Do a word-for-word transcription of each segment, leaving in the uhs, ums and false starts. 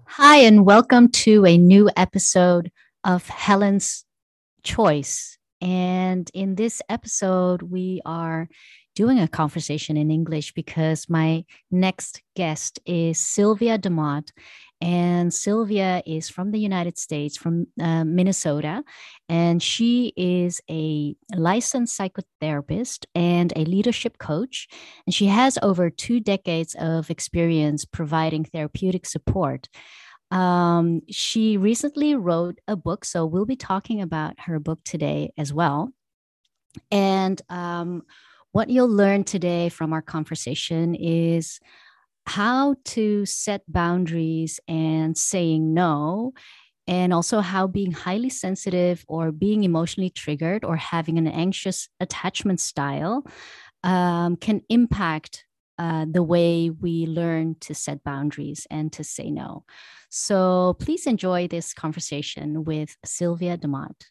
Hi, and welcome to a new episode of Helen's Choice. And in this episode, we are doing a conversation in English because my next guest is Sylvia DeMott. And Sylvia is from the United States, from uh, Minnesota. And she is a licensed psychotherapist and a leadership coach. And she has over two decades of experience providing therapeutic support. Um, she recently wrote a book, so we'll be talking about her book today as well. And um, what you'll learn today from our conversation is how to set boundaries and saying no, and also how being highly sensitive or being emotionally triggered or having an anxious attachment style um, can impact uh, the way we learn to set boundaries and to say no. So please enjoy this conversation with Sylvia DeMott.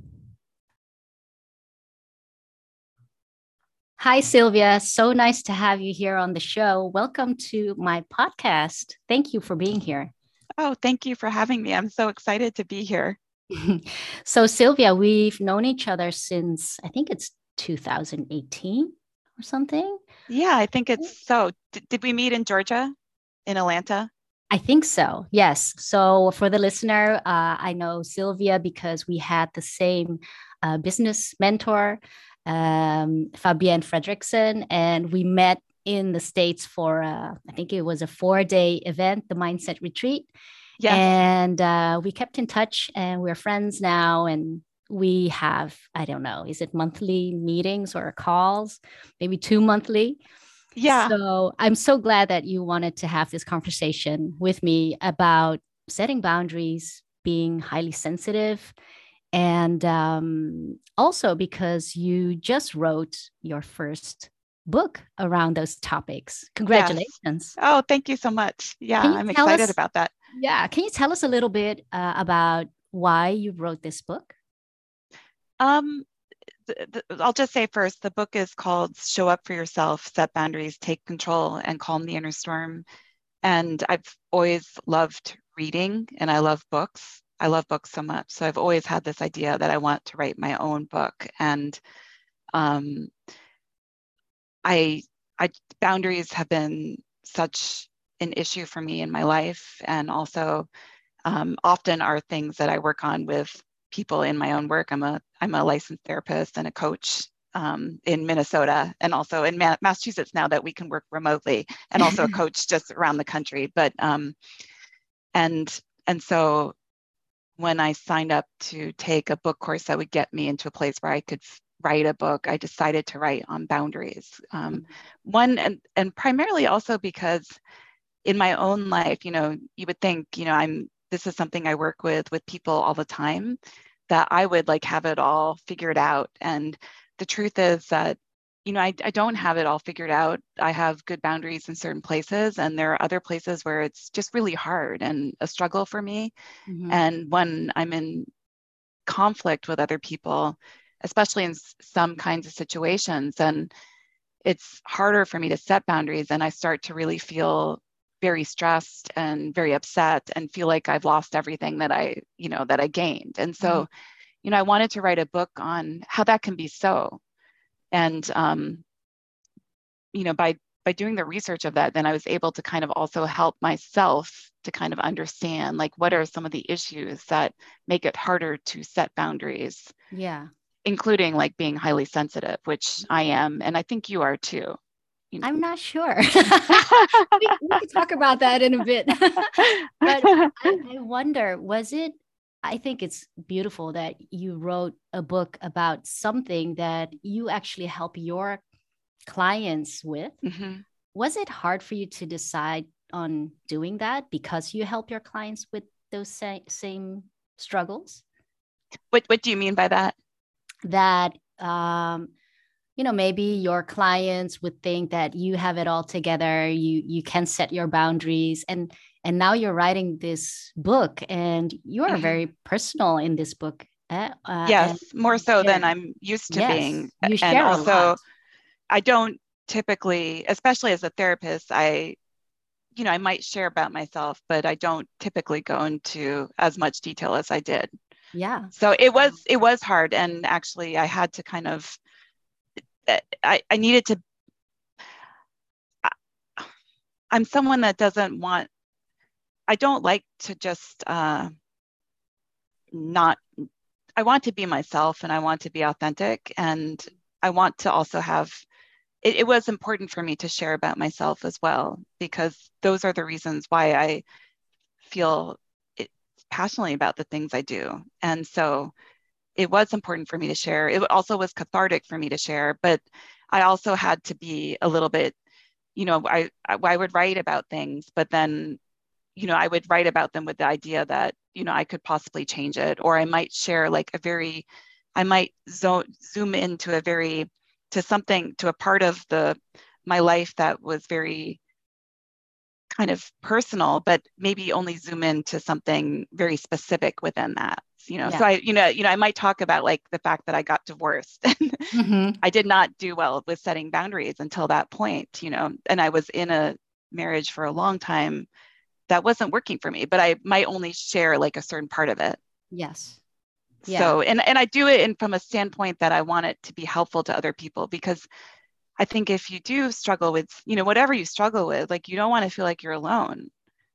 Hi, Sylvia. So nice to have you here on the show. Welcome to my podcast. Thank you for being here. Oh, thank you for having me. I'm so excited to be here. So, Sylvia, we've known each other since I think it's two thousand eighteen or something. Yeah, I think it's so. D- did we meet in Georgia, in Atlanta? I think so. Yes. So for the listener, uh, I know Sylvia because we had the same uh, business mentor, um, Fabienne Fredrickson, and we met in the States for, uh, I think it was a four day event, the Mindset Retreat. Yes. And uh, we kept in touch and we're friends now. And we have, I don't know, is it monthly meetings or calls? Maybe two monthly. Yeah. So I'm so glad that you wanted to have this conversation with me about setting boundaries, being highly sensitive, and um, also because you just wrote your first book around those topics. Yes. Congratulations. Oh, thank you so much. Yeah, Can you I'm tell excited us? about that. Yeah, can you tell us a little bit uh, about why you wrote this book? Um, th- th- I'll just say first, the book is called Show Up for Yourself, Set Boundaries, Take Control, and Calm the Inner Storm. And I've always loved reading and I love books. I love books so much. So I've always had this idea that I want to write my own book. And um, I, I boundaries have been such an issue for me in my life, and also um, often are things that I work on with people in my own work. I'm a I'm a licensed therapist and a coach um, in Minnesota, and also in Ma- Massachusetts now that we can work remotely, and also a coach just around the country. But um, and and so when I signed up to take a book course that would get me into a place where I could write a book, I decided to write on boundaries. Um, one, and, and primarily also because in my own life, you know, you would think, you know, I'm, this is something I work with, with people all the time, that I would like have it all figured out. And the truth is that you know, I, I don't have it all figured out. I have good boundaries in certain places, and there are other places where it's just really hard and a struggle for me. Mm-hmm. And when I'm in conflict with other people, especially in some kinds of situations, then it's harder for me to set boundaries. And I start to really feel very stressed and very upset and feel like I've lost everything that I, you know, that I gained. And Mm-hmm. so, you know, I wanted to write a book on how that can be so. And, um, you know, by by doing the research of that, then I was able to kind of also help myself to kind of understand like what are some of the issues that make it harder to set boundaries, Yeah. including like being highly sensitive, which I am, and I think you are too. You I'm not sure. know. we, we can talk about that in a bit. But I, I wonder, was it? I think it's beautiful that you wrote a book about something that you actually help your clients with. Mhm. Was it hard for you to decide on doing that because you help your clients with those sa- same struggles? What what do you mean by that? That um, you know, maybe your clients would think that you have it all together, you you can set your boundaries, and and now you're writing this book and you're Mhm. very personal in this book, uh, uh, Yes, and more you so than share. I'm used to being. Yes, you And share a lot. also, I don't typically, especially as a therapist, I you know, I might share about myself, but I don't typically go into as much detail as I did. Yeah. So it was it was hard, and actually I had to kind of I, I needed to I'm someone that doesn't want I don't like to just uh, not I want to be myself, and I want to be authentic, and I want to also have it, it was important for me to share about myself as well, because those are the reasons why I feel it, passionately about the things I do. And so it was important for me to share. It also was cathartic for me to share, but I also had to be a little bit, you know, I, I, I would write about things, but then, you know, I would write about them with the idea that, you know, I could possibly change it, or I might share like a very, I might zo- zoom into a very, to something, to a part of the, my life that was very kind of personal, but maybe only zoom into something very specific within that. You know, Yeah. so I, you know, you know, I might talk about like the fact that I got divorced. Mm-hmm. I did not do well with setting boundaries until that point, you know, and I was in a marriage for a long time that wasn't working for me, but I might only share like a certain part of it. Yes. Yeah. So, and, and I do it in from a standpoint that I want it to be helpful to other people, because I think if you do struggle with, you know, whatever you struggle with, like you don't want to feel like you're alone.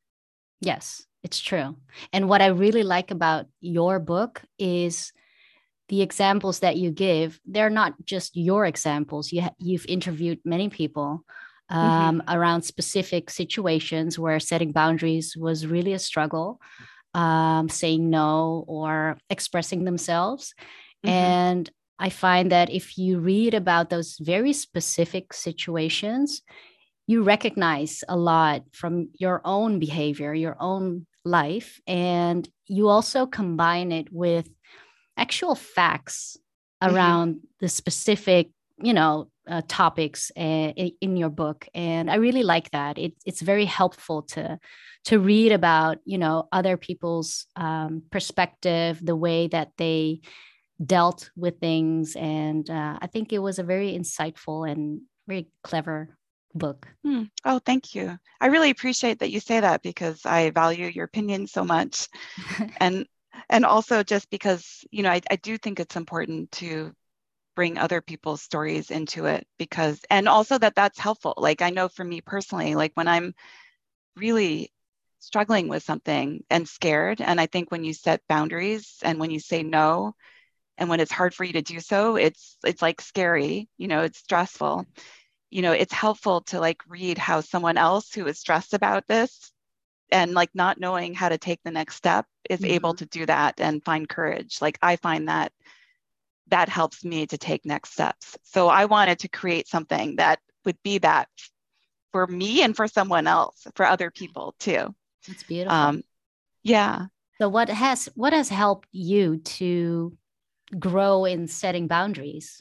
Yes, it's true. And what I really like about your book is the examples that you give. They're not just your examples. You ha- you've interviewed many people Mm-hmm. um, around specific situations where setting boundaries was really a struggle, um, saying no or expressing themselves. Mm-hmm. And I find that if you read about those very specific situations, you recognize a lot from your own behavior, your own life, and you also combine it with actual facts Mm-hmm. around the specific, you know, uh, topics uh, in, in your book. And I really like that. It, it's very helpful to to read about, you know, other people's um, perspective, the way that they dealt with things. And uh, I think it was a very insightful and very clever book. Hmm. Oh, thank you. I really appreciate that you say that, because I value your opinion so much. And and also just because, you know, I, I do think it's important to bring other people's stories into it, because, and also that that's helpful. Like I know for me personally, like when I'm really struggling with something and scared, and I think when you set boundaries and when you say no, and when it's hard for you to do so, it's it's like scary, you know, it's stressful. You know, it's helpful to like read how someone else who is stressed about this and like not knowing how to take the next step is able Mhm. to do that and find courage. Like I find that that helps me to take next steps. So I wanted to create something that would be that for me and for someone else, for other people too. That's beautiful. Um, yeah. So what has what has helped you to grow in setting boundaries?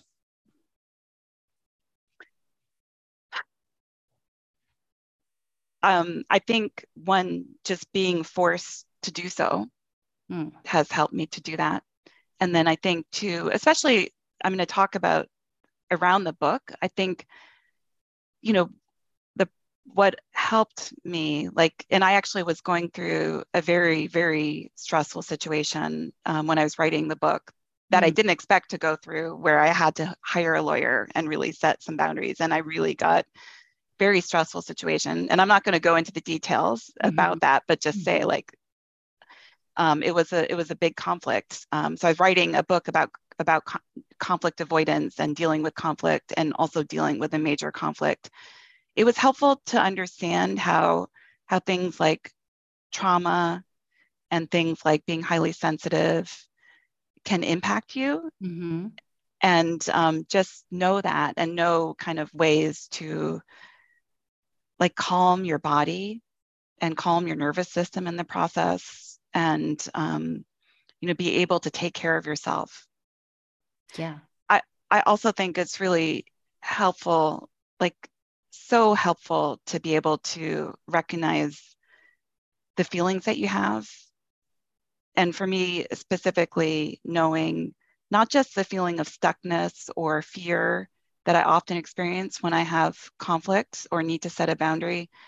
Um, I think one, just being forced to do so Mm. has helped me to do that. And then I think too, especially I'm going to talk about around the book, I think, you know, the what helped me, like, and I actually was going through a very, very stressful situation um, when I was writing the book that I Mm. didn't expect to go through, where I had to hire a lawyer and really set some boundaries. And I really got very stressful situation. And I'm not going to go into the details Mm-hmm. about that, but just say Mm-hmm. like um, it was a it was a big conflict. Um, so I was writing a book about about co- conflict avoidance and dealing with conflict, and also dealing with a major conflict. It was helpful to understand how how things like trauma and things like being highly sensitive can impact you, Mm-hmm. and um, just know that, and know kind of ways to like calm your body and calm your nervous system in the process, and um, you know, be able to take care of yourself. Yeah. I, I also think it's really helpful, like so helpful to be able to recognize the feelings that you have. And for me, specifically, knowing not just the feeling of stuckness or fear that I often experience when I have conflict or need to set a boundary,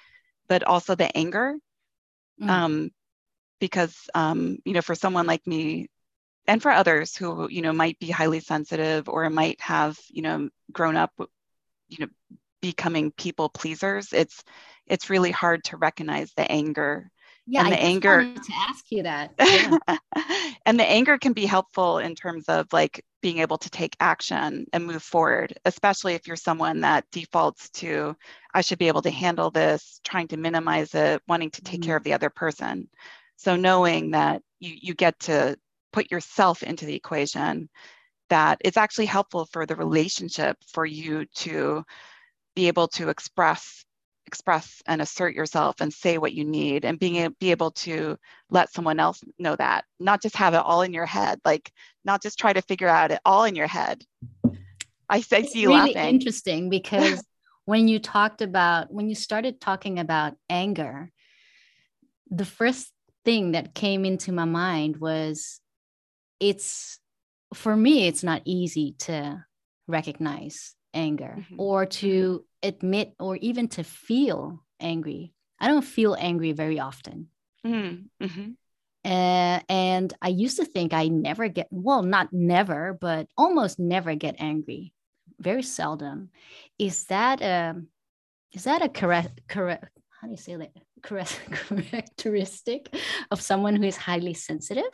but also the anger. Mm. Um, because, um, you know, for someone like me and for others who, you know, might be highly sensitive or might have, you know, grown up, you know, becoming people pleasers, it's, it's really hard to recognize the anger. Yeah, And I the just anger wanted to ask you that. Yeah. and the anger can be helpful in terms of like being able to take action and move forward, especially if you're someone that defaults to, I should be able to handle this, trying to minimize it, wanting to take care Mm. of the other person. So knowing that you, you get to put yourself into the equation, that it's actually helpful for the relationship for you to be able to express express and assert yourself and say what you need, and being be able to let someone else know that, not just have it all in your head, like not just try to figure out it all in your head. I, I see It's you really laughing. interesting because when you talked about, when you started talking about anger, the first thing that came into my mind was it's, for me, it's not easy to recognize anger Mhm. or Mhm. to admit or even to feel angry. I don't feel angry very often. Mhm. Mhm. Uh, and I used to think I never get, well, not never, but almost never get angry. Very seldom. Is that a, is that a correct, correct, how do you say that? Correct, characteristic of someone who is highly sensitive?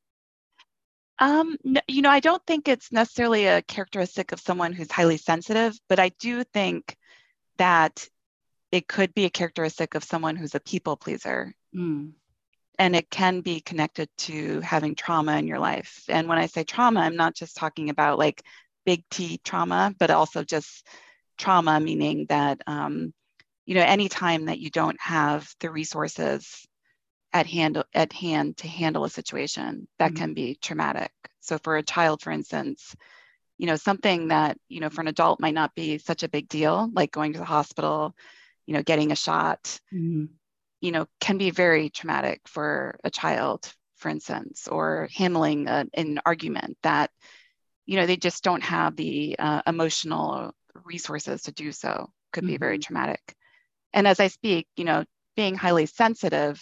Um, n- you know, I don't think it's necessarily a characteristic of someone who's highly sensitive, but I do think that it could be a characteristic of someone who's a people pleaser. Mm. And it can be connected to having trauma in your life. And when I say trauma, I'm not just talking about like big T trauma, but also just trauma, meaning that, um, you know, anytime that you don't have the resources at hand at hand to handle a situation, that Mm. can be traumatic. So for a child, for instance, you know, something that, you know, for an adult might not be such a big deal, like going to the hospital, you know, getting a shot, Mm. you know, can be very traumatic for a child, for instance, or handling a, an argument that, you know, they just don't have the uh, emotional resources to do so, could be very Mm-hmm. traumatic. And as I speak, you know, being highly sensitive,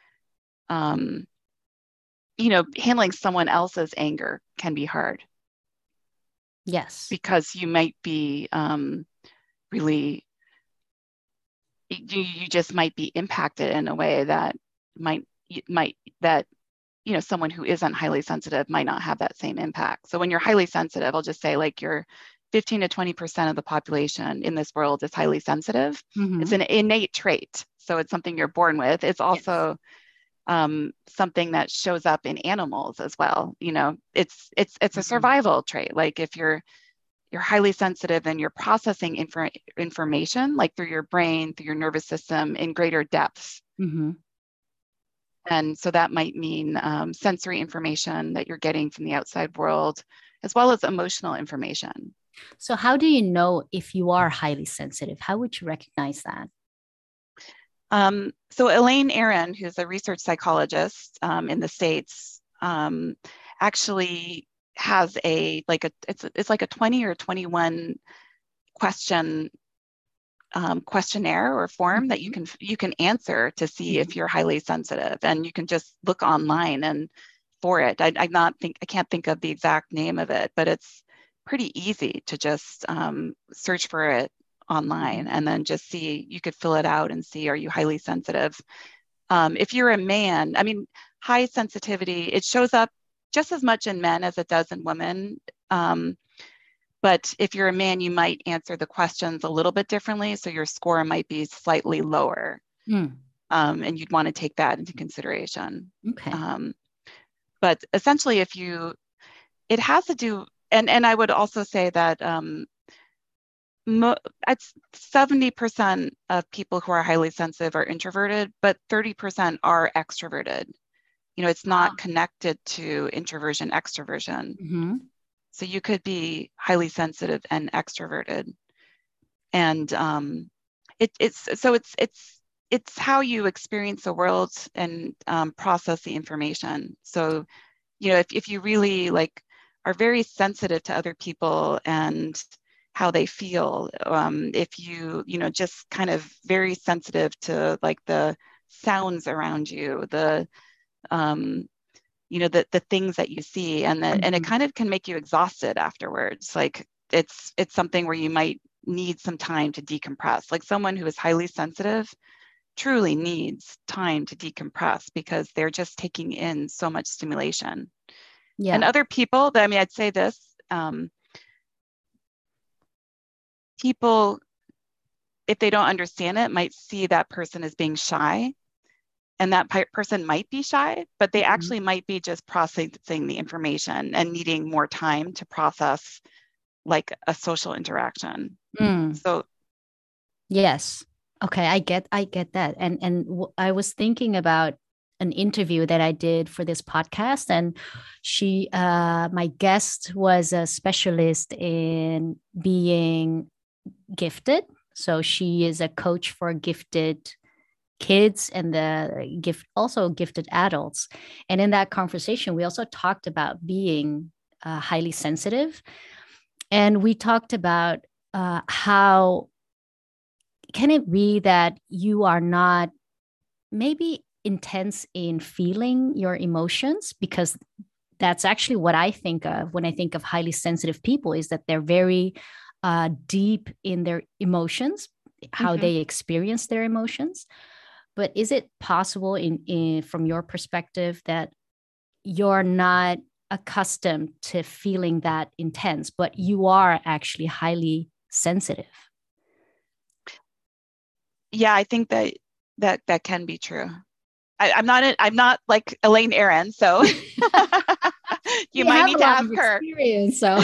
um, you know, handling someone else's anger can be hard Yes. because you might be um, really, you, you just might be impacted in a way that might, might, that you know, someone who isn't highly sensitive might not have that same impact. So when you're highly sensitive, I'll just say like you're fifteen to twenty percent of the population in this world is highly sensitive. It's Mm-hmm. an innate trait. So it's something you're born with. It's Yes. also um, something that shows up in animals as well. You know, it's it's it's a Mm-hmm. survival trait. Like if you're you're highly sensitive and you're processing infor- information like through your brain, through your nervous system in greater depths. Mm-hmm. And so that might mean um, sensory information that you're getting from the outside world, as well as emotional information. So, how do you know if you are highly sensitive? How would you recognize that? Um, so Elaine Aron, who's a research psychologist um, in the States, um, actually has a like a it's it's like a twenty or twenty-one question um, questionnaire or form that you Mm-hmm. can you can answer to see Mm-hmm. if you're highly sensitive, and you can just look online and for it. I, I not think I can't think of the exact name of it, but it's pretty easy to just um, search for it online Mm-hmm. and then just see. You could fill it out and see, are you highly sensitive? Um, if you're a man, I mean, high sensitivity, it shows up just as much in men as it does in women. Um, but if you're a man, you might answer the questions a little bit differently. So your score might be slightly lower. Mm. Um, and you'd want to take that into consideration. Okay. Um, but essentially, if you, it has to do, and, and I would also say that um, mo- it's seventy percent of people who are highly sensitive are introverted, but thirty percent are extroverted. You know, it's not Ah. connected to introversion, extroversion. Mm-hmm. So you could be highly sensitive and extroverted. And um, it, it's so it's it's it's how you experience the world and um, process the information. So you know, if if you really like are very sensitive to other people and how they feel. Um, if you, you know, just kind of very sensitive to like the sounds around you, the, um, you know, the the things that you see, and that, and it Mhm. kind of can make you exhausted afterwards. Like it's it's something where you might need some time to decompress. Like someone who is highly sensitive truly needs time to decompress because they're just taking in so much stimulation. And Yeah. other people, I mean, I'd say this, um, people, if they don't understand it, might see that person as being shy. And that person might be shy, but they Mhm. actually might be just processing the information and needing more time to process like a social interaction. Mm. So, Yes. Okay, I get I get that. And and w- I was thinking about an interview that I did for this podcast, and she uh my guest was a specialist in being gifted. So she is a coach for gifted kids and the gift also gifted adults. And in that conversation we also talked about being uh, highly sensitive, and we talked about uh, how can it be that you are not maybe intense in feeling your emotions, because that's actually what I think of when I think of highly sensitive people, is that they're very uh, deep in their emotions, how mhm. they experience their emotions. But is it possible in, in from your perspective that you're not accustomed to feeling that intense, but you are actually highly sensitive? Yeah, I think that that that can be true. I, I'm not a, I'm not like Elaine Aron, so you You might have need a to lot of ask her. experience, so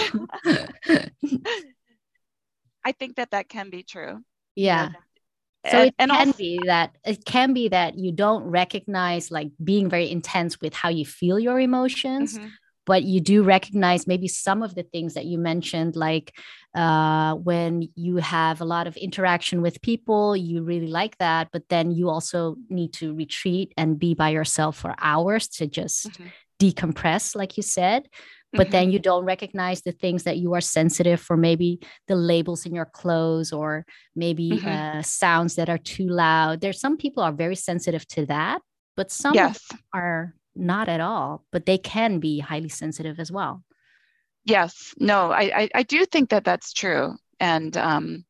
I think that that can be true. You know, yeah. So and it and can also, be that it can be that you don't recognize like being very intense with how you feel your emotions, mhm, but you do recognize maybe some of the things that you mentioned, like uh, when you have a lot of interaction with people, you really like that, but then you also need to retreat and be by yourself for hours to just mhm, decompress, like you said. But mhm, then you don't recognize the things that you are sensitive for, maybe the labels in your clothes, or maybe mhm. uh, sounds that are too loud. There's some people are very sensitive to that, but some of them Yes, are not at all, but they can be highly sensitive as well. yes. No, I, I I do think that that's true. And um,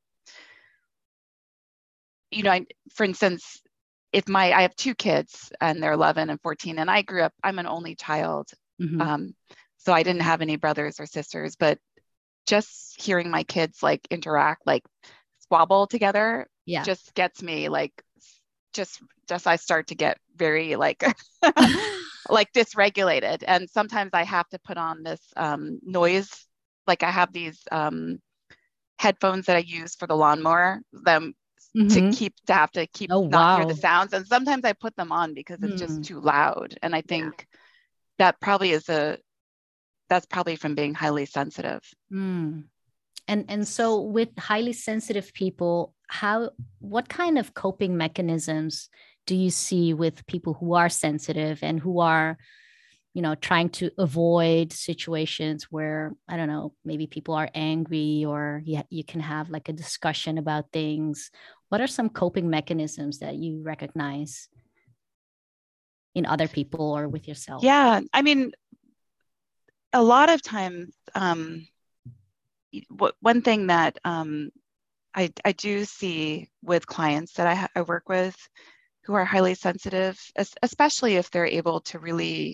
you know, I, for instance, if my I have two kids and they're eleven and fourteen, and I grew up, I'm an only child. Mm-hmm. Um, so I didn't have any brothers or sisters, but just hearing my kids like interact, like squabble together, Yeah. just gets me like just just I start to get very like like dysregulated. And sometimes I have to put on this um, noise. Like I have these um, headphones that I use for the lawnmower, them to Mm-hmm. keep to have to keep Oh, not hear the wow. sounds. And sometimes I put them on because it's just Mm. too loud. And I Yeah. think that probably is a that's probably from being highly sensitive. Mm. And and so with highly sensitive people, how what kind of coping mechanisms do you see with people who are sensitive and who are, you know, trying to avoid situations where, I don't know, maybe people are angry, or you, you can have like a discussion about things? What are some coping mechanisms that you recognize in other people or with yourself? Yeah, I mean, a lot of times, um, what one thing that um, I I do see with clients that I, I work with who are highly sensitive, especially if they're able to really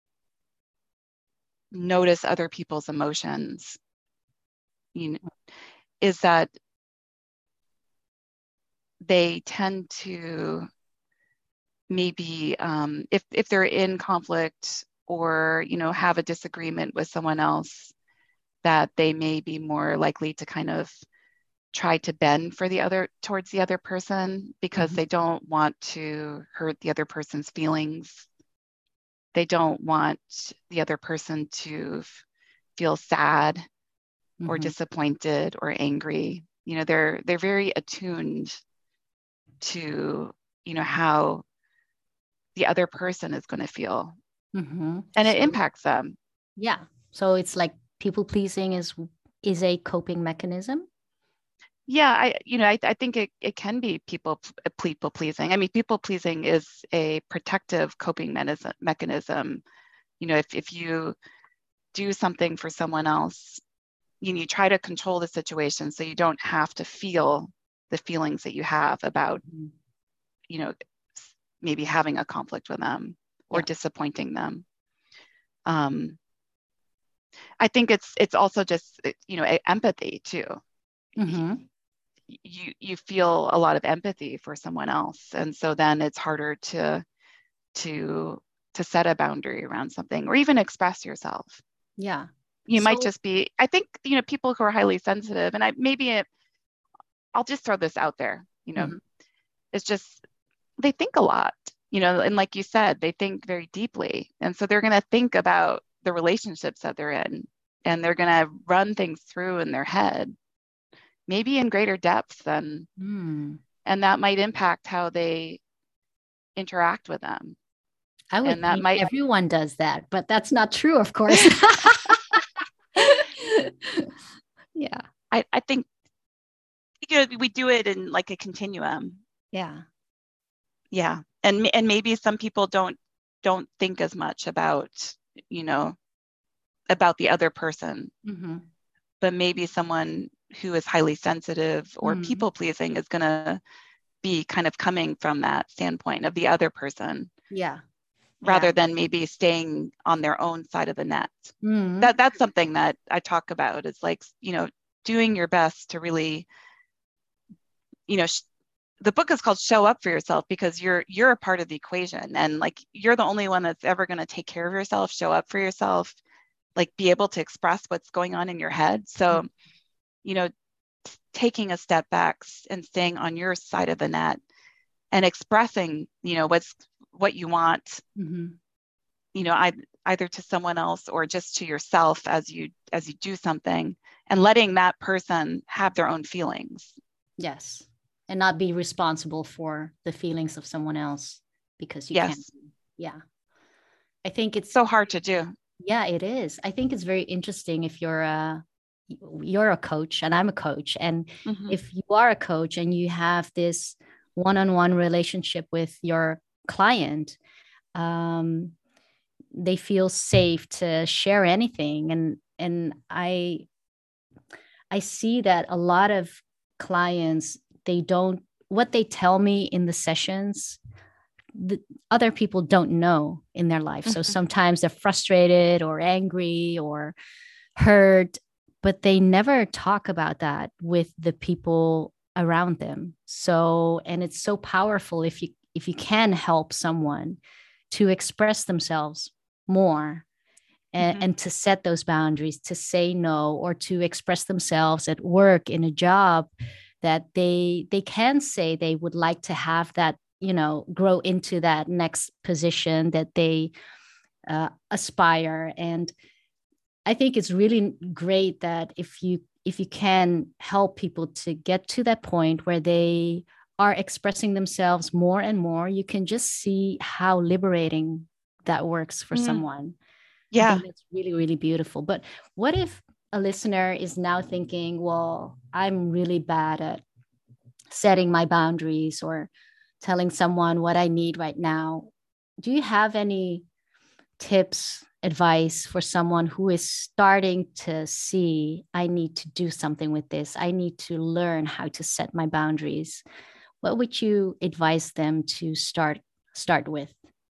notice other people's emotions, you know, is that they tend to maybe um, if if they're in conflict or you know have a disagreement with someone else, that they may be more likely to kind of try to bend for the other towards the other person because Mhm. they don't want to hurt the other person's feelings. They don't want the other person to f- feel sad or Mhm. disappointed or angry. You know, they're they're very attuned to, you know, how the other person is going to feel, Mhm. and it So impacts them. yeah, so it's like people pleasing is is a coping mechanism? Yeah, I, you know, I, I think it, it can be people people pleasing. I mean, people pleasing is a protective coping mechanism. mechanism. You know, if, if you do something for someone else, you know, you try to control the situation so you don't have to feel the feelings that you have about, Mm-hmm. you know, maybe having a conflict with them or Yeah. disappointing them. Um, I think it's it's also just, you know, empathy too. Mm-hmm. You you feel a lot of empathy for someone else, and so then it's harder to to to set a boundary around something or even express yourself. Yeah. You might So, just be, I think, you know, people who are highly sensitive, and I maybe it, I'll just throw this out there, you know, mhm. it's just they think a lot, you know, and like you said, they think very deeply. And so they're going to think about the relationships that they're in, and they're going to run things through in their head, maybe in greater depth than, Mm. and that might impact how they interact with them. I would And that think might, everyone does that, but that's not true, of course. Yeah. I, I think, you know, we do it in like a continuum. Yeah. Yeah. And, and maybe some people don't, don't think as much about, you know, about the other person, Mm-hmm. but maybe someone who is highly sensitive or Mm-hmm. people pleasing is going to be kind of coming from that standpoint of the other person Yeah. Yeah. rather than maybe staying on their own side of the net. Mm-hmm. That that's something that I talk about is like, you know, doing your best to really, you know, sh- the book is called Show Up for Yourself because you're you're a part of the equation, and like you're the only one that's ever going to take care of yourself, show up for yourself, like be able to express what's going on in your head. So, you know, taking a step back and staying on your side of the net and expressing, you know, what's what you want, Mm-hmm. you know, I, either to someone else or just to yourself as you as you do something, and letting that person have their own feelings. Yes. And not be responsible for the feelings of someone else because you can't. Yes, Yeah. I think it's, so hard to do. yeah, it is. I think it's very interesting if you're a you're a coach and I'm a coach. And Mm-hmm. if you are a coach and you have this one-on-one relationship with your client, um, they feel safe to share anything. And and I I see that a lot of clients, they don't, what they tell me in the sessions, the other people don't know in their life. So Mm-hmm. sometimes they're frustrated or angry or hurt, but they never talk about that with the people around them. So, and it's so powerful if you if you can help someone to express themselves more, and, Mm-hmm. and to set those boundaries, to say no, or to express themselves at work, in a job, that they they can say they would like to have that, you know, grow into that next position that they uh, aspire. And I think it's really great that if you if you can help people to get to that point where they are expressing themselves more and more, you can just see how liberating that works for Mm-hmm. someone. I Yeah. think that's really, really beautiful. But what if a listener is now thinking, well, I'm really bad at setting my boundaries or telling someone what I need right now? Do you have any tips, advice for someone who is starting to see, I need to do something with this? I need to learn how to set my boundaries. What would you advise them to start start with?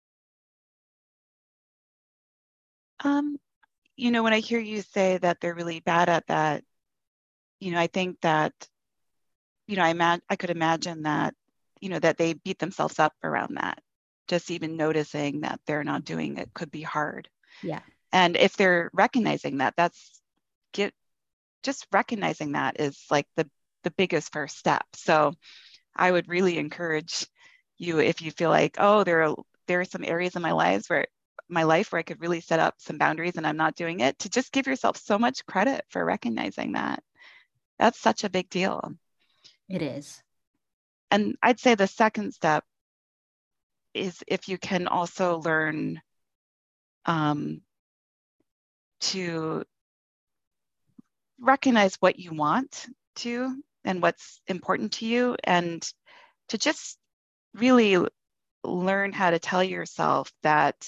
Um, you know, when I hear you say that they're really bad at that, you know, I think that, you know, I imagine I could imagine that, you know, that they beat themselves up around that. Just even noticing that they're not doing it could be hard. Yeah. And if they're recognizing that, that's get just recognizing that is like the the biggest first step. So I would really encourage you, if you feel like, oh, there are there are some areas in my lives where my life where I could really set up some boundaries and I'm not doing it, to just give yourself so much credit for recognizing that. That's such a big deal. It is. And I'd say the second step is if you can also learn um, to recognize what you want to and what's important to you, and to just really learn how to tell yourself that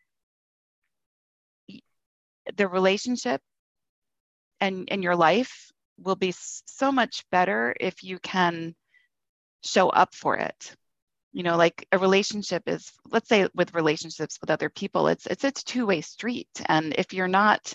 the relationship and, and your life will be so much better if you can show up for it. You know, like a relationship is, let's say with relationships with other people, it's it's a two-way street. And if you're not,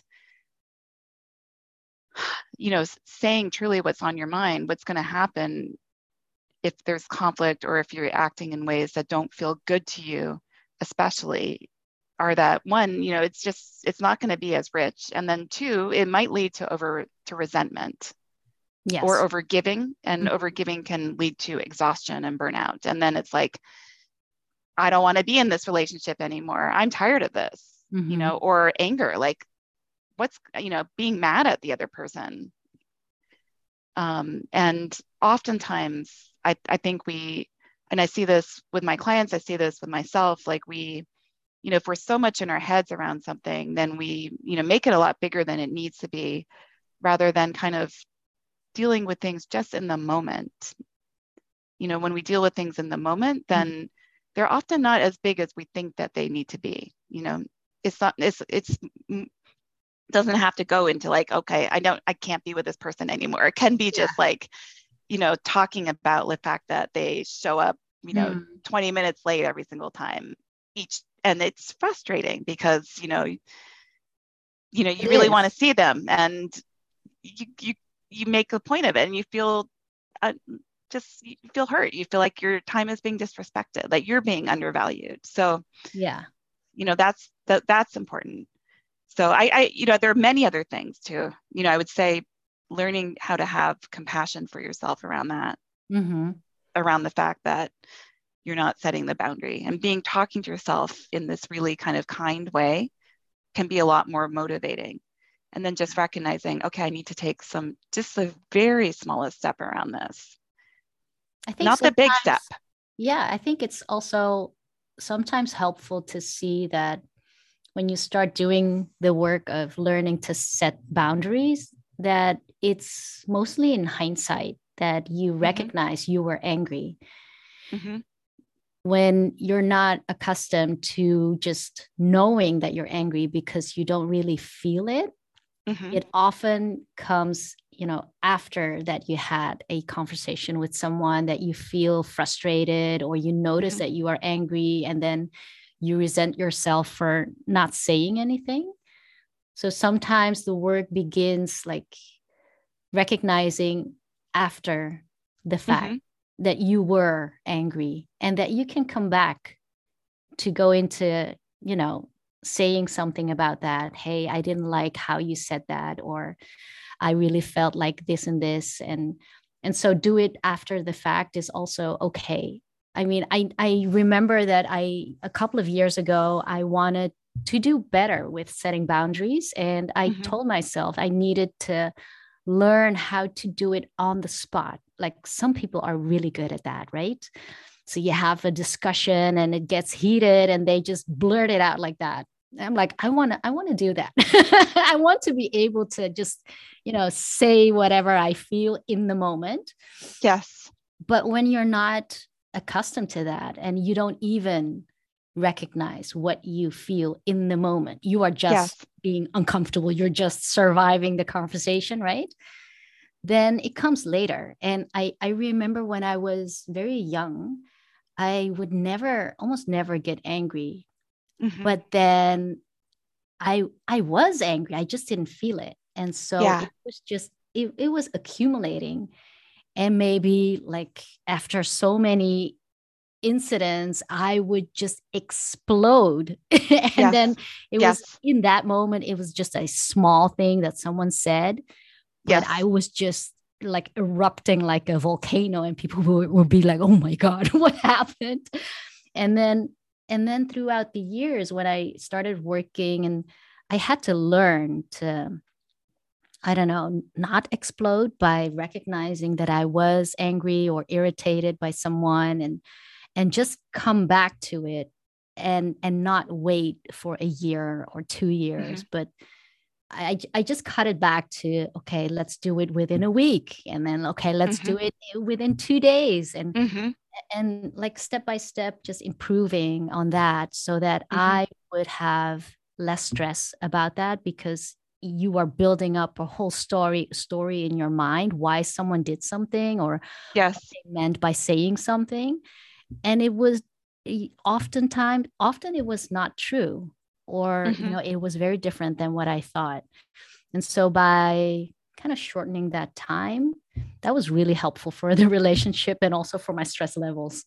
you know, saying truly what's on your mind, what's going to happen if there's conflict, or if you're acting in ways that don't feel good to you, especially, are that one, you know, it's just, it's not going to be as rich. And then two, it might lead to over to resentment. Yes. Or overgiving, and mm-hmm. overgiving can lead to exhaustion and burnout. And then it's like, I don't want to be in this relationship anymore. I'm tired of this, mm-hmm. you know, or anger, like what's, you know, being mad at the other person. Um, and oftentimes I, I think we, and I see this with my clients, I see this with myself, like we, you know, if we're so much in our heads around something, then we, you know, make it a lot bigger than it needs to be, rather than kind of dealing with things just in the moment. You know, when we deal with things in the moment, then mm-hmm. they're often not as big as we think that they need to be. You know, it's not, it's, it's, doesn't have to go into like, okay, I don't, I can't be with this person anymore. It can be yeah. just like, you know, talking about the fact that they show up, you know, mm. twenty minutes late every single time each. And it's frustrating because, you know, you, you know, you it really want to see them, and you, you, you make a point of it, and you feel uh, just you feel hurt. You feel like your time is being disrespected, like you're being undervalued. So yeah, you know, that's that that's important. So I, I, you know, there are many other things too. You know, I would say learning how to have compassion for yourself around that, mm-hmm. around the fact that you're not setting the boundary, and being talking to yourself in this really kind of kind way can be a lot more motivating. And then just recognizing, okay, I need to take some, just the very smallest step around this. I think not the big step. Yeah, I think it's also sometimes helpful to see that when you start doing the work of learning to set boundaries, that it's mostly in hindsight that you recognize mm-hmm. you were angry. Mm-hmm. When you're not accustomed to just knowing that you're angry because you don't really feel it, mm-hmm. it often comes, you know, after that you had a conversation with someone that you feel frustrated, or you notice mm-hmm. that you are angry, and then you resent yourself for not saying anything. So sometimes the work begins like recognizing after the fact mm-hmm. that you were angry, and that you can come back to go into, you know, saying something about that. Hey, I didn't like how you said that, or I really felt like this and this. And, and so do it after the fact is also okay. I mean, I, I remember that I, a couple of years ago, I wanted to do better with setting boundaries. And I mm-hmm. told myself I needed to learn how to do it on the spot. Like some people are really good at that, right? So you have a discussion and it gets heated and they just blurt it out like that. I'm like, I want to, I want to do that. I want to be able to just, you know, say whatever I feel in the moment. Yes. But when you're not accustomed to that, and you don't even recognize what you feel in the moment, you are just yes. being uncomfortable. You're just surviving the conversation, right? Then it comes later. And I, I remember when I was very young, I would never, almost never get angry. Mm-hmm. But then I, I was angry. I just didn't feel it. And so yeah. it was just, it, it was accumulating. And maybe like after so many incidents, I would just explode. and yes. then it yes. was in that moment, it was just a small thing that someone said, but yes. I was just like erupting like a volcano, and people would, would be like, oh my God, what happened? And then, and then throughout the years when I started working, and I had to learn to, I don't know, not explode by recognizing that I was angry or irritated by someone, and and just come back to it, and and not wait for a year or two years, mm-hmm. but I, I just cut it back to, okay, let's do it within a week. And then, okay, let's Mm-hmm. do it within two days. And, Mm-hmm. and like step by step, just improving on that so that Mm-hmm. I would have less stress about that, because you are building up a whole story story in your mind, why someone did something or what Yes. they meant by saying something. And it was oftentimes, often it was not true, or, you Mm-hmm. know, it was very different than what I thought. And so by kind of shortening that time, that was really helpful for the relationship and also for my stress levels.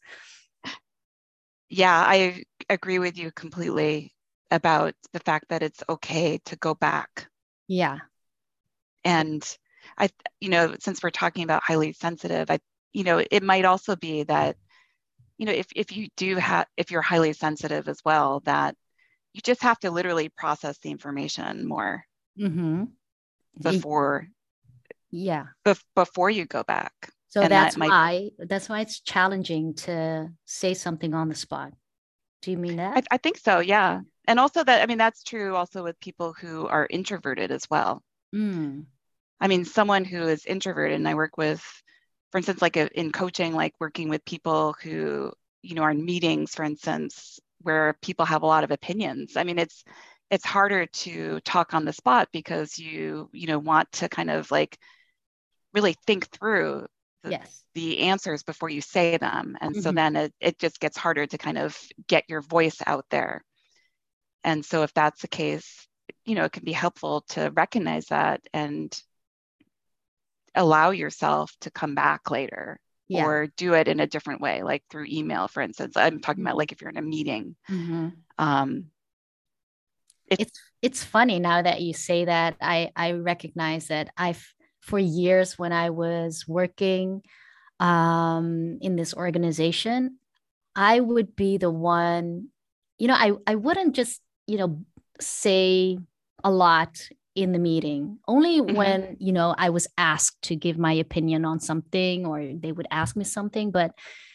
Yeah, I agree with you completely about the fact that it's okay to go back. Yeah. And I, you know, since we're talking about highly sensitive, I, you know, it might also be that, you know, if if you do have, if you're highly sensitive as well, that you just have to literally process the information more Mm-hmm. before Yeah. bef- before you go back. So And that that's might, why that's why it's challenging to say something on the spot. Do you mean I, that? I think so, yeah. And also that, I mean, that's true also with people who are introverted as well. Mm. I mean, someone who is introverted, and I work with, for instance, like a, in coaching, like working with people who, you know, are in meetings, for instance, where people have a lot of opinions. I mean, it's it's harder to talk on the spot because you, you know, want to kind of like really think through the, Yes. the answers before you say them. And so Mm-hmm. then it, it just gets harder to kind of get your voice out there. And so if that's the case, you know, it can be helpful to recognize that and allow yourself to come back later Yeah. or do it in a different way, like through email, for instance. I'm talking about like if you're in a meeting. Mm-hmm. Um, if It's it's funny now that you say that. I I recognize that I've, for years when I was working um, in this organization, I would be the one, you know, I, I wouldn't just, you know, say a lot in the meeting, only mhm, when, you know, I was asked to give my opinion on something or they would ask me something. But,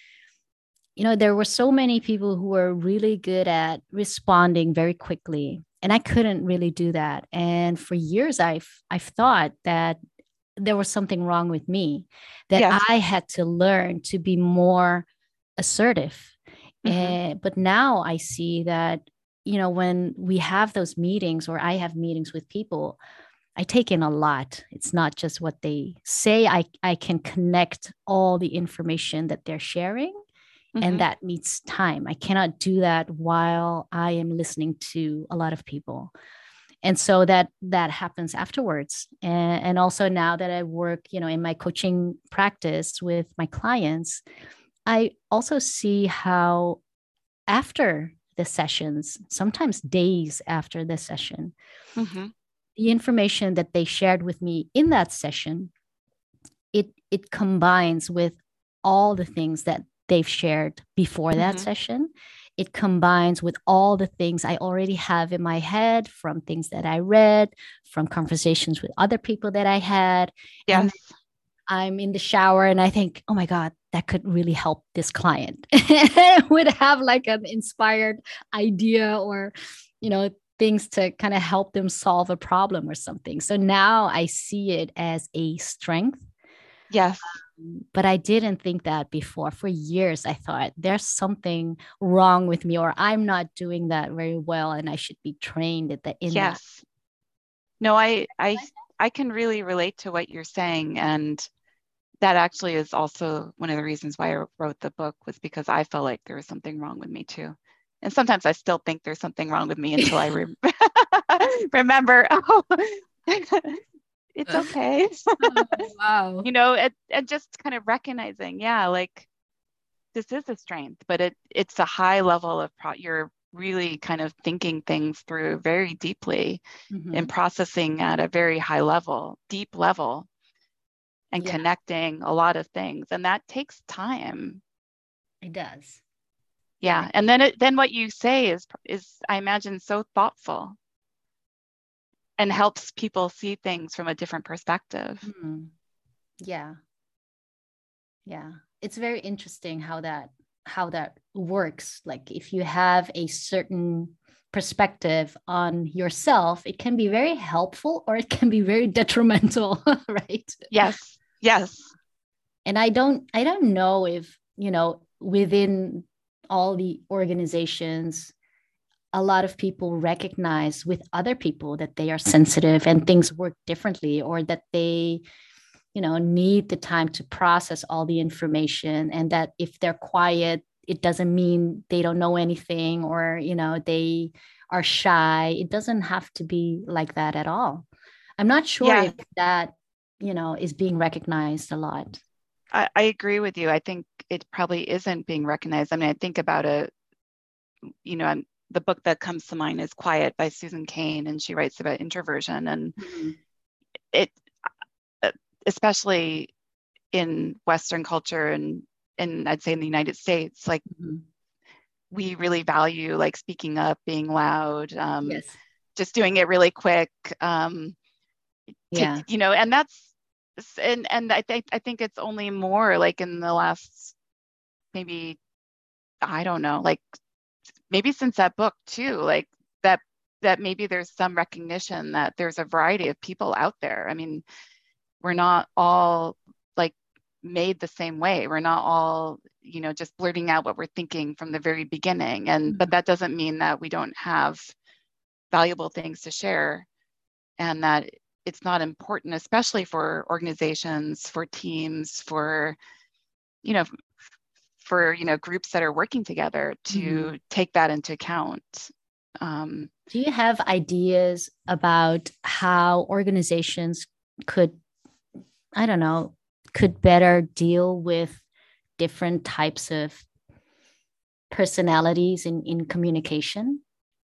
you know, there were so many people who were really good at responding very quickly. And I couldn't really do that. And for years, I've I've thought that there was something wrong with me, that yes, I had to learn to be more assertive. mhm, And but now I see that, you know, when we have those meetings or I have meetings with people, I take in a lot. It's not just what they say. I, I can connect all the information that they're sharing, and mhm, that needs time. I cannot do that while I am listening to a lot of people. And so that that happens afterwards. And, and also now that I work, you know, in my coaching practice with my clients, I also see how after the sessions, sometimes days after the session, mhm, the information that they shared with me in that session, it it combines with all the things that they've shared before that mhm, session. It combines with all the things I already have in my head from things that I read, from conversations with other people that I had. And yes, I'm in the shower and I think, oh my God, that could really help this client. I would have like an inspired idea or, you know, things to kind of help them solve a problem or something. So now I see it as a strength, yes, but I didn't think that before. For years, I thought there's something wrong with me or I'm not doing that very well and I should be trained at the, in that. yes. No, I, I, I can really relate to what you're saying, and that actually is also one of the reasons why I wrote the book, was because I felt like there was something wrong with me too. And sometimes I still think there's something wrong with me until I re- remember, oh, it's okay. Oh, wow. You know, and, and just kind of recognizing, yeah, like this is a strength, but it it's a high level of pro you're really kind of thinking things through very deeply and Mm-hmm. processing at a very high level, deep level, and Yeah, connecting a lot of things. And that takes time. it does. Yeah. Yeah. And then it then what you say is is I imagine so thoughtful and helps people see things from a different perspective. Mm. Yeah. Yeah, it's very interesting how that how that works. Like if you have a certain perspective on yourself, it can be very helpful or it can be very detrimental, right? Yes. Yes. And I don't I don't know if, you know, within all the organizations, a lot of people recognize with other people that they are sensitive and things work differently, or that they, you know, need the time to process all the information, and that if they're quiet, it doesn't mean they don't know anything, or, you know, they are shy. It doesn't have to be like that at all. I'm not sure Yeah, if that, you know, is being recognized a lot. I, I agree with you. I think it probably isn't being recognized. I mean, I think about a, you know, I'm, the book that comes to mind is Quiet by Susan Cain, and she writes about introversion. And Mm-hmm. it, uh, especially in Western culture and, and I'd say in the United States, like Mm-hmm. we really value like speaking up, being loud, um, Yes. just doing it really quick. Um, to, Yeah. you know, and that's, and, and I think, I think it's only more like in the last, maybe, I don't know, like maybe since that book too, like that, that maybe there's some recognition that there's a variety of people out there. I mean, we're not all like made the same way. We're not all, you know, just blurting out what we're thinking from the very beginning. And, but that doesn't mean that we don't have valuable things to share, and that it's not important, especially for organizations, for teams, for, you know, for, you know, groups that are working together Mm-hmm. to take that into account. Um, Do you have ideas about how organizations could, I don't know, could better deal with different types of personalities in, in communication?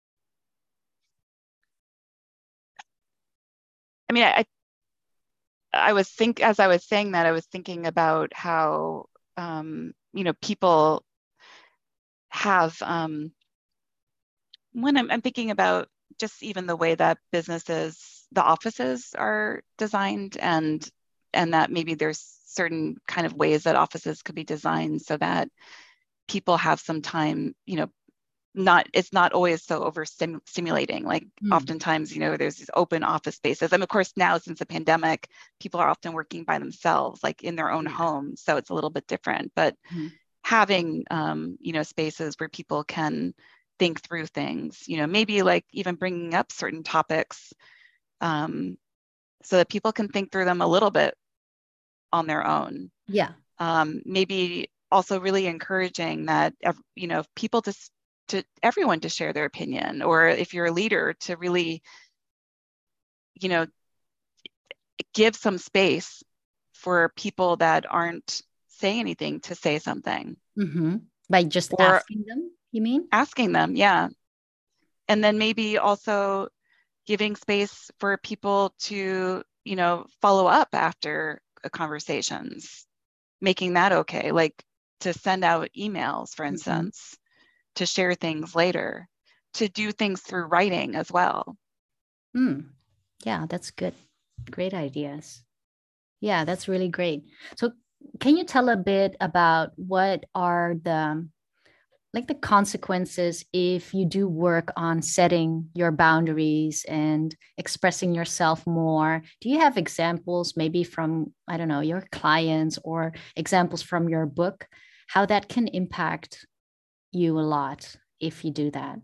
I mean, I, I was think as I was saying that, I was thinking about how, um, you know, people have, um, when I'm, I'm thinking about just even the way that businesses, the offices are designed, and and that maybe there's certain kind of ways that offices could be designed so that people have some time, you know, not, it's not always so over stimulating. Like Mm. oftentimes, you know, there's these open office spaces. And of course, now since the pandemic, people are often working by themselves, like in their own Yeah. homes. So it's a little bit different. But Mm. having, um, you know, spaces where people can think through things, you know, maybe like even bringing up certain topics, um, so that people can think through them a little bit on their own. Yeah. Um, maybe also really encouraging that, you know, people to to everyone to share their opinion, or if you're a leader to really, you know, give some space for people that aren't saying anything to say something, Mm-hmm. By just or asking them, you mean? asking them, yeah. And then maybe also giving space for people to, you know, follow up after conversations, making that okay, like to send out emails, for Mm-hmm. instance, to share things later, to do things through writing as well. Mm. Yeah, that's good. Great ideas. Yeah, that's really great. So, can you tell a bit about what are the like the consequences if you do work on setting your boundaries and expressing yourself more? Do you have examples maybe from, I don't know, your clients, or examples from your book, how that can impact you a lot if you do that?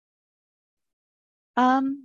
Um,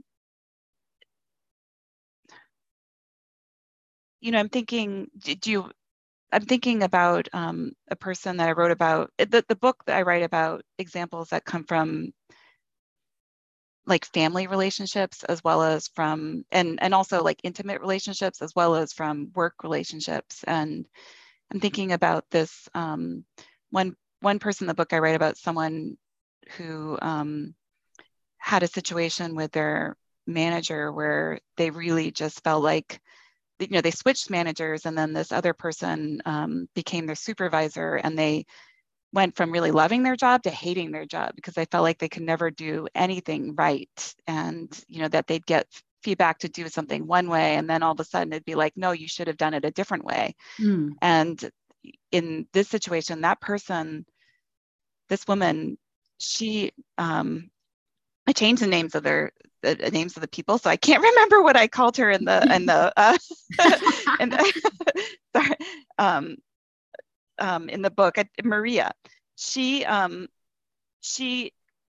you know, I'm thinking, do you, I'm thinking about um, a person that I wrote about, the, the book that I write about examples that come from like family relationships, as well as from, and, and also like intimate relationships, as well as from work relationships. And I'm thinking about this, um, one, one person in the book I write about, someone who um, had a situation with their manager where they really just felt like, you know, they switched managers, and then this other person um, became their supervisor, and they went from really loving their job to hating their job because they felt like they could never do anything right. And, you know, that they'd get feedback to do something one way, and then all of a sudden it'd be like, no, you should have done it a different way. Mm. And in this situation, that person, this woman, she um, I changed the names of their the names of the people, so I can't remember what I called her in the in the uh, in the, sorry, um, um, in the book. I, Maria, she um, she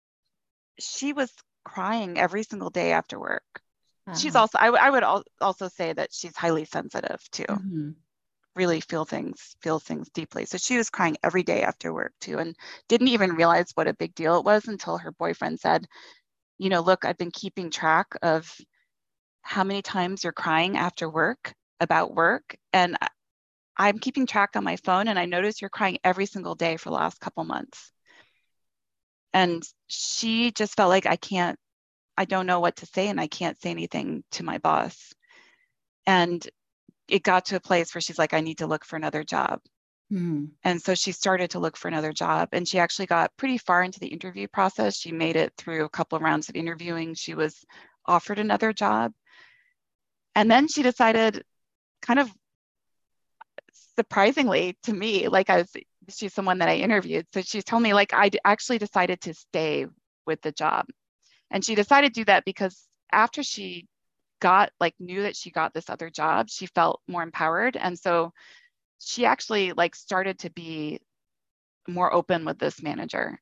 she was crying every single day after work. She's Wow. also I, w- I would al- also say that she's highly sensitive too. Hmm. Really feel things feel things deeply. So she was crying every day after work too, and didn't even realize what a big deal it was until her boyfriend said, you know, look, I've been keeping track of how many times you're crying after work about work. And I- I'm keeping track on my phone, and I notice you're crying every single day for the last couple months. And she just felt like I can't, I don't know what to say, and I can't say anything to my boss. And it got to a place where she's like, I need to look for another job. Hmm. And so she started to look for another job, and she actually got pretty far into the interview process. She made it through a couple of rounds of interviewing. She was offered another job. And then she decided, kind of surprisingly to me, like I was, she's someone that I interviewed. So she told me, like, I actually decided to stay with the job. And she decided to do that because after she got, like, knew that she got this other job, she felt more empowered. And so she actually, like, started to be more open with this manager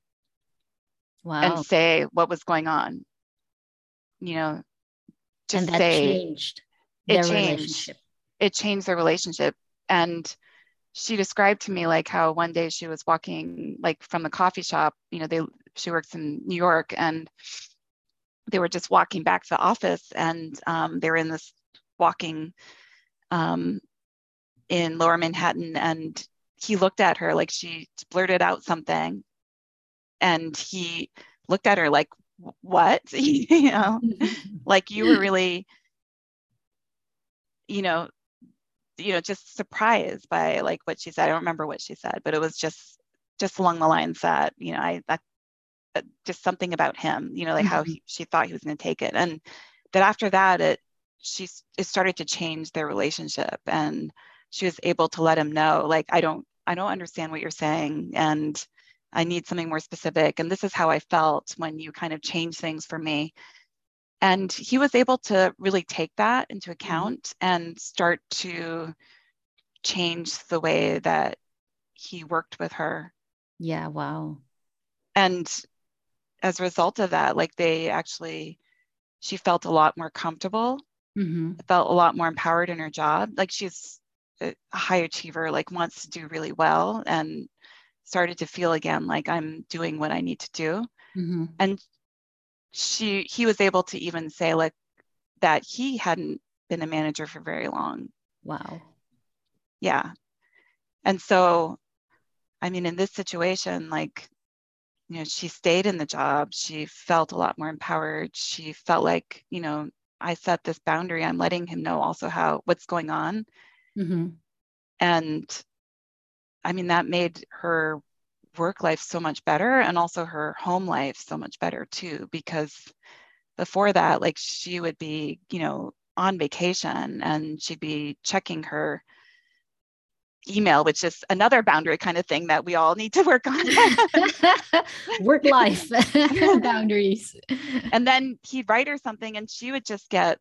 and Wow. say what was going on, you know, And just that say changed it their changed. relationship. It changed their relationship. And she described to me like how one day she was walking like from the coffee shop, you know, they she works in New York, and they were just walking back to the office, and um, they were in this walking um, in Lower Manhattan, and he looked at her like she blurted out something, and he looked at her like, what? You know, like you were really, you know, you know, just surprised by like what she said. I don't remember what she said, but it was just just along the lines that, you know, I that, that just something about him, you know, like how Mhm. he, she thought he was going to take it, and that after that, it she it started to change their relationship, and she was able to let him know, like, I don't I don't understand what you're saying, and I need something more specific, and this is how I felt when you kind of changed things for me. And he was able to really take that into Mhm. account and start to change the way that he worked with her. Yeah, wow. And as a result of that, like they actually, she felt a lot more comfortable, Hmm. felt a lot more empowered in her job. Like she's a high achiever, like wants to do really well, and started to feel again like I'm doing what I need to do. Hmm. And she, he was able to even say like that he hadn't been a manager for very long. Wow. Yeah. And so, I mean, in this situation, like, you know, she stayed in the job. She felt a lot more empowered. She felt like, you know, I set this boundary. I'm letting him know also how what's going on. Hmm. And I mean, that made her work life so much better, and also her home life so much better too, because before that, like she would be, you know, on vacation, and she'd be checking her email, which is another boundary kind of thing that we all need to work on. Work life boundaries. And then he'd write her something, and she would just get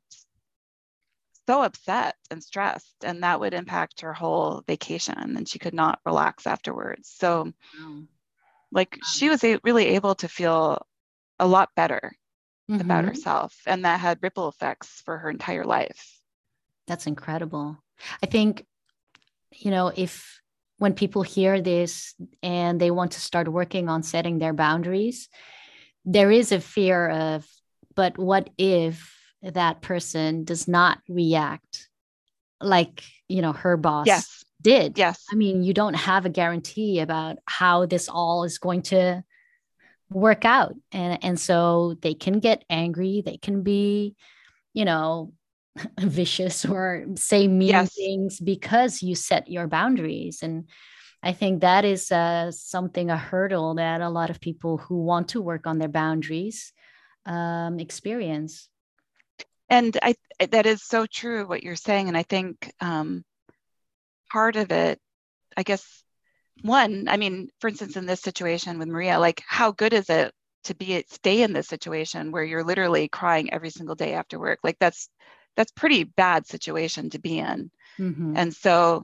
so upset and stressed, and that would impact her whole vacation, and she could not relax afterwards. So Wow. like she was a- really able to feel a lot better about Hmm. herself, and that had ripple effects for her entire life. That's incredible. I think, you know, if when people hear this and they want to start working on setting their boundaries, there is a fear of, but what if that person does not react like, you know, her boss Yes, did? yes. I mean, you don't have a guarantee about how this all is going to work out. And and so they can get angry, they can be, you know, vicious or say mean Yes. things because you set your boundaries. And I think that is uh, something, a hurdle that a lot of people who want to work on their boundaries um, experience. And I that is so true what you're saying. And I think um, part of it, I guess, one, I mean, for instance, in this situation with Maria, like how good is it to be stay in this situation where you're literally crying every single day after work. Like that's that's pretty bad situation to be in. Mm-hmm. And so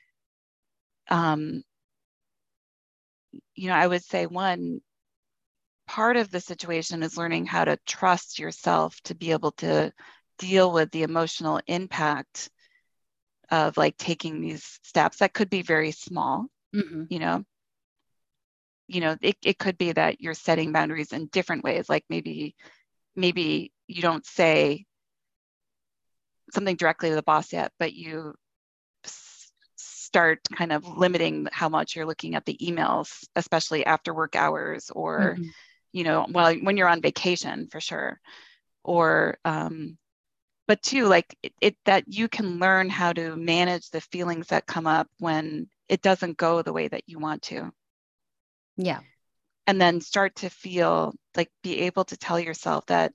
um you know, I would say one part of the situation is learning how to trust yourself to be able to deal with the emotional impact of like taking these steps that could be very small. Mm-hmm. You know, you know, it, it could be that you're setting boundaries in different ways. Like maybe, maybe you don't say something directly to the boss yet, but you s- start kind of limiting how much you're looking at the emails, especially after work hours, or, Mm-hmm. you know, well, when you're on vacation for sure. Or, um, but too, like it, it that you can learn how to manage the feelings that come up when it doesn't go the way that you want to. Yeah. And then start to feel like be able to tell yourself that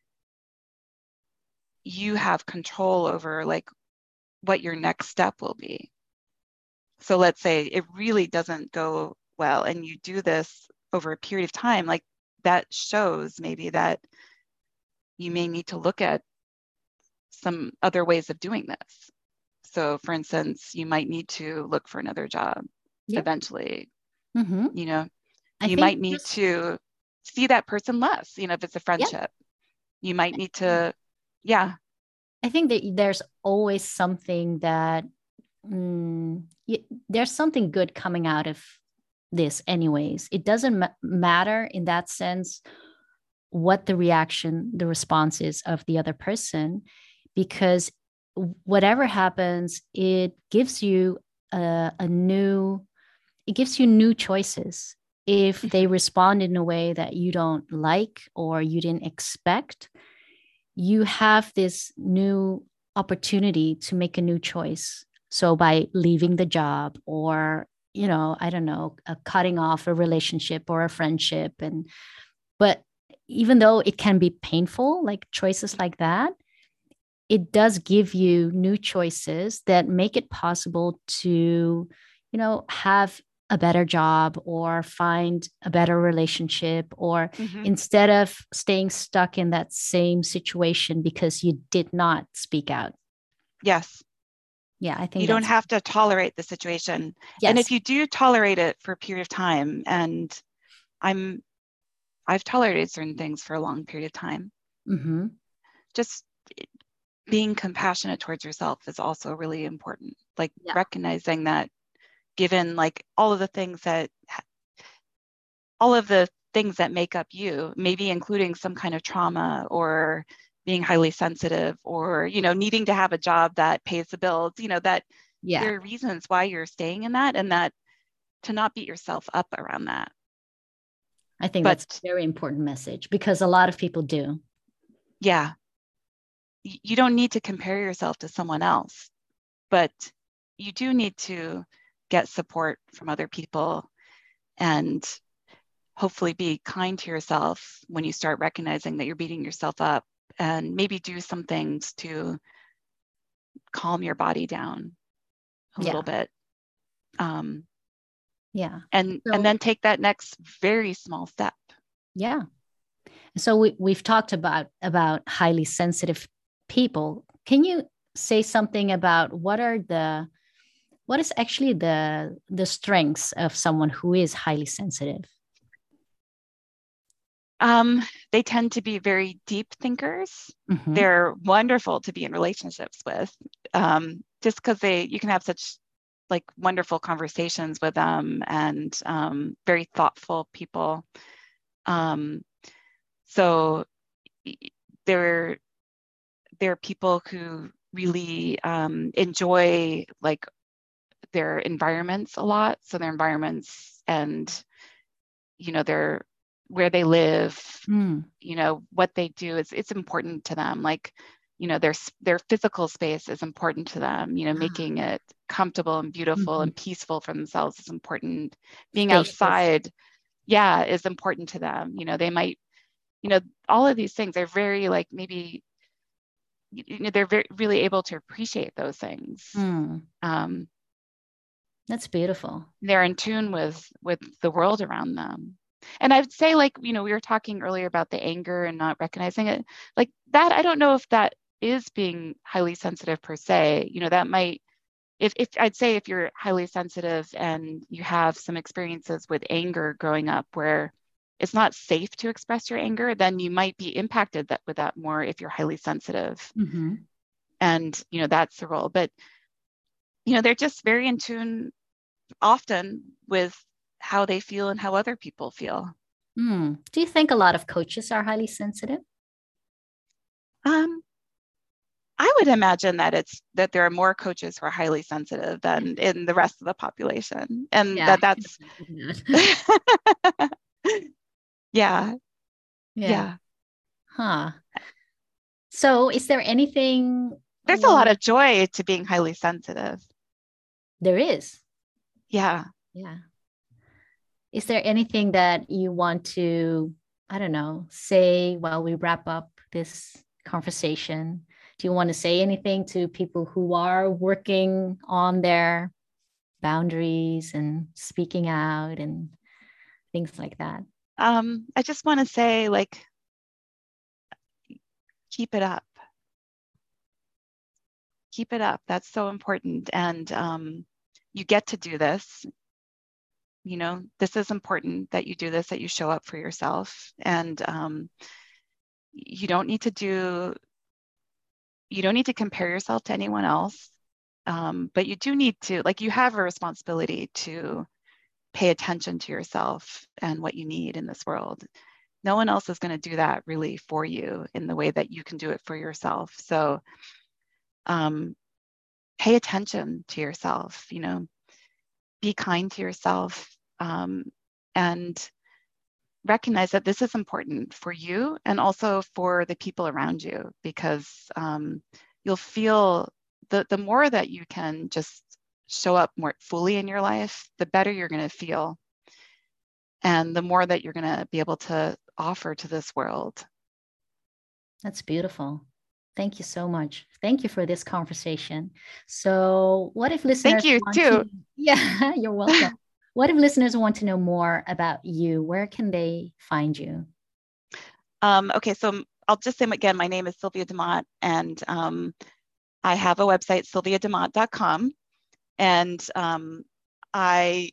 you have control over like what your next step will be. So let's say it really doesn't go well and you do this over a period of time, like that shows maybe that you may need to look at some other ways of doing this. So for instance, you might need to look for another job Yeah. eventually. Mm-hmm. You know, I you think might need just, to see that person less, you know, if it's a yeah. friendship. You might need to, yeah. I think that there's always something that mm, y- there's something good coming out of this, anyways. It doesn't ma- matter in that sense what the reaction, the response is of the other person, because whatever happens, it gives you a, a new, it gives you new choices. If they Mhm. respond in a way that you don't like or you didn't expect, you have this new opportunity to make a new choice. So by leaving the job or, you know, I don't know, uh, cutting off a relationship or a friendship. And, but even though it can be painful, like choices like that, it does give you new choices that make it possible to, you know, have a better job or find a better relationship, or Mhm. instead of staying stuck in that same situation because you did not speak out. Yes. Yeah, I think You don't that's, have to tolerate the situation. And if yes. you do tolerate it for a period of time, and I'm, I've tolerated certain things for a long period of time, Mm-hmm. just being compassionate towards yourself is also really important. Like Yeah. recognizing that given like all of the things that all of the things that make up you, maybe including some kind of trauma or being highly sensitive or, you know, needing to have a job that pays the bills, you know, that Yeah. there are reasons why you're staying in that, and that to not beat yourself up around that. I think that's But a very important message because a lot of people do. yeah, you don't need to compare yourself to someone else, but you do need to get support from other people and hopefully be kind to yourself when you start recognizing that you're beating yourself up, and maybe do some things to calm your body down a little Yeah. bit. Um, Yeah. and and So, then take that next very small step. yeah. So we, we've talked about about highly sensitive people. Can you say something about what are the what is actually the the strengths of someone who is highly sensitive? Um, they tend to be very deep thinkers. Mm-hmm. They're wonderful to be in relationships with, um, just because they you can have such like wonderful conversations with them, and um, very thoughtful people. Um, so they're they're people who really um, enjoy like their environments a lot. So their environments and you know their where they live, Mm. you know what they do is it's important to them. Like you know their their physical space is important to them. You know Ah. making it comfortable and beautiful Mm-hmm. and peaceful for themselves is important. Being Spacious. outside, yeah, is important to them. You know they might you know all of these things are very like maybe you know they're very really able to appreciate those things. Mm. um, That's beautiful. they're in tune with with the world around them. And I would say, like, you know, we were talking earlier about the anger and not recognizing it. Like that, I don't know if that is being highly sensitive per se. You know, that might, if, if I'd say if you're highly sensitive and you have some experiences with anger growing up where it's not safe to express your anger, then you might be impacted that, with that more if you're highly sensitive. Mm-hmm. And, you know, that's the role. But, you know, they're just very in tune often with how they feel and how other people feel. Mm. Do you think a lot of coaches are highly sensitive? Um, I would imagine that it's that there are more coaches who are highly sensitive than in the rest of the population, and Yeah. that that's yeah, Yeah. yeah. Huh. So is there anything? There's a lot Well, of joy to being highly sensitive. there is. Yeah. Yeah. Is there anything that you want to, I don't know, say while we wrap up this conversation? Do you want to say anything to people who are working on their boundaries and speaking out and things like that? Um, I just want to say, like, keep it up. Keep it up. That's so important. And um, you get to do this. You know, this is important that you do this, that you show up for yourself. And um, you don't need to do, you don't need to compare yourself to anyone else. Um, but you do need to, like, you have a responsibility to pay attention to yourself and what you need in this world. No one else is going to do that really for you in the way that you can do it for yourself. So um, pay attention to yourself, you know, be kind to yourself, um, and recognize that this is important for you and also for the people around you, because um, you'll feel the, the more that you can just show up more fully in your life, the better you're going to feel. And the more that you're going to be able to offer to this world. That's beautiful. Thank you so much. Thank you for this conversation. So, what if Thank listeners you want too. to? Yeah, you're welcome. What if listeners want to know more about you? Where can they find you? Um, okay, so I'll just say again, my name is Sylvia DeMott, and um, I have a website, sylvia demott dot com. And um, I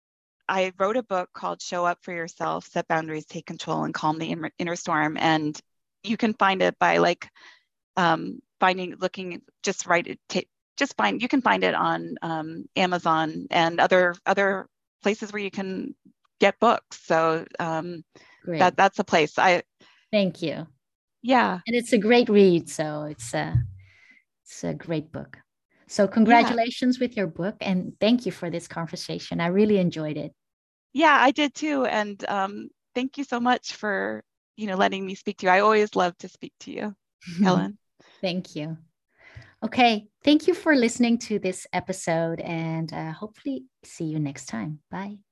I wrote a book called Show Up for Yourself, Set Boundaries, Take Control, and Calm the Inner Storm. And you can find it by like um, finding, looking, just write it, t- just find, you can find it on um, Amazon and other other places where you can get books. So um, Great. that that's a place. I Thank you. Yeah. And it's a great read. So, it's a, it's a great book. So, Yeah. congratulations with your book. And thank you for this conversation. I really enjoyed it. Yeah, I did too. And um, thank you so much for, you know, letting me speak to you. I always love to speak to you, Helen. Thank you. Okay. Thank you for listening to this episode, and uh, hopefully see you next time. Bye.